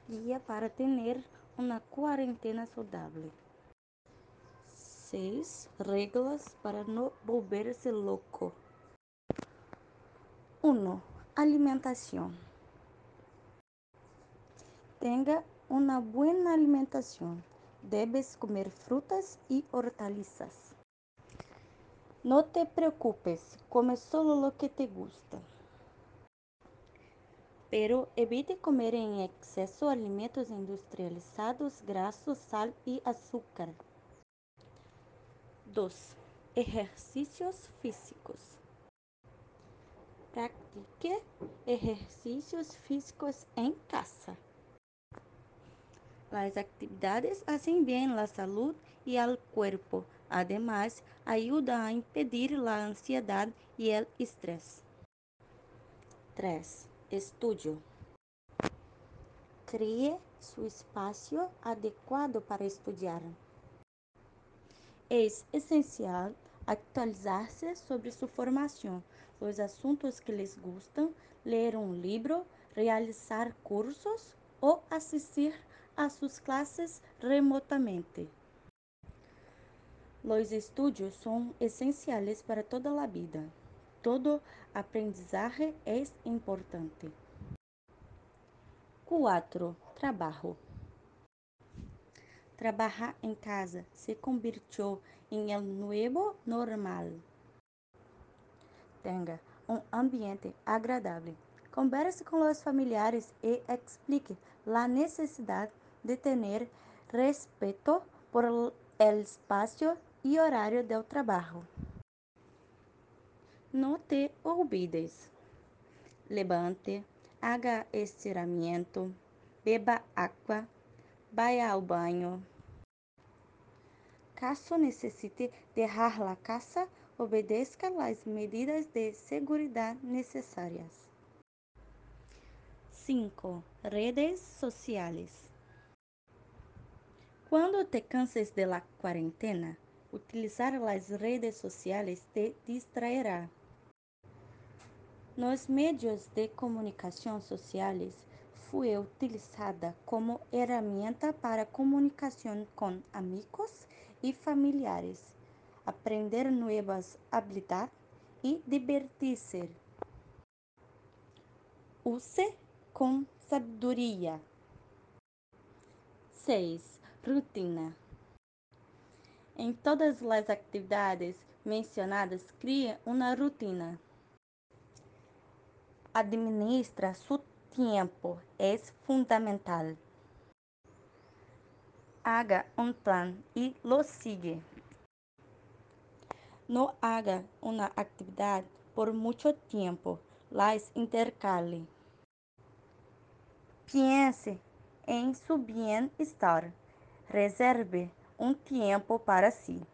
guía para tener una cuarentena saludable. 6. Reglas para no volverse loco. 1. Alimentación. Tenga una buena alimentación. Debes comer frutas y hortalizas. No te preocupes, come solo lo que te gusta. Pero evite comer en exceso alimentos industrializados, grasos, sal y azúcar. 2. Ejercicios físicos. Practique ejercicios físicos en casa. Las actividades hacen bien a la salud y al cuerpo. Además, ayuda a impedir la ansiedad y el estrés. 3. Estudio. Cree su espacio adecuado para estudiar. Es esencial actualizarse sobre su formación, los asuntos que les gustan, leer un libro, realizar cursos o asistir a sus clases remotamente. Los estudios son esenciales para toda la vida. Todo aprendizaje es importante. 4. Trabajo. Trabajar en casa se convirtió en el nuevo normal. Tenga un ambiente agradable. Converse con los familiares y explique la necesidad de tener respeto por el espacio y horario del trabajo. No te olvides. Levante, haga estiramiento, beba agua, vaya al baño. Caso necesite dejar la casa, obedezca las medidas de seguridad necesarias. 5. Redes sociales. Cuando te canses de la cuarentena, utilizar las redes sociales te distraerá. Nos medios de comunicación sociales fue utilizada como herramienta para comunicación con amigos y familiares, aprender nuevas habilidades y divertirse. Use con sabiduría. 6. Rutina. En todas las actividades mencionadas, crie una rutina. Administra su tiempo, es fundamental. Haga un plan y lo sigue. No haga una actividad por mucho tiempo, las intercale. Piense en su bienestar. Reserve un tiempo para si.